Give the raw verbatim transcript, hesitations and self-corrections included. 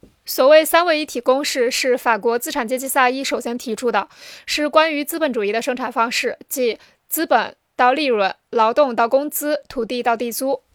所谓三位一体公式是法国资产阶级萨伊首先提出的，是关于资本主义的生产方式，即资本到利润、劳动到工资、土地到地租。